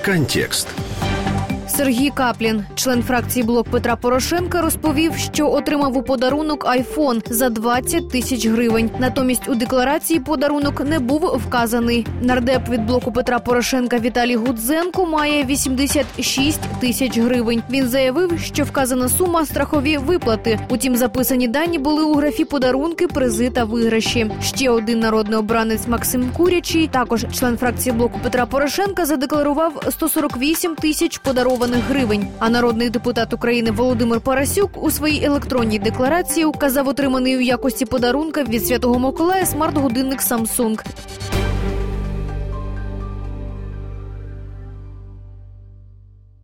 Контекст. Сергій Каплін, член фракції «Блок Петра Порошенка», розповів, що отримав у подарунок айфон за 20 тисяч гривень. Натомість у декларації подарунок не був вказаний. Нардеп від «Блоку Петра Порошенка» Віталій Гудзенко має 86 тисяч гривень. Він заявив, що вказана сума – страхові виплати. Утім, записані дані були у графі «Подарунки, призи та виграші». Ще один народний обранець Максим Курячий, також член фракції «Блоку Петра Порошенка», задекларував 148 тисяч подарованих гривень. А народний депутат України Володимир Парасюк у своїй електронній декларації указав отриманий у якості подарунка від Святого Миколая смарт-годинник Samsung.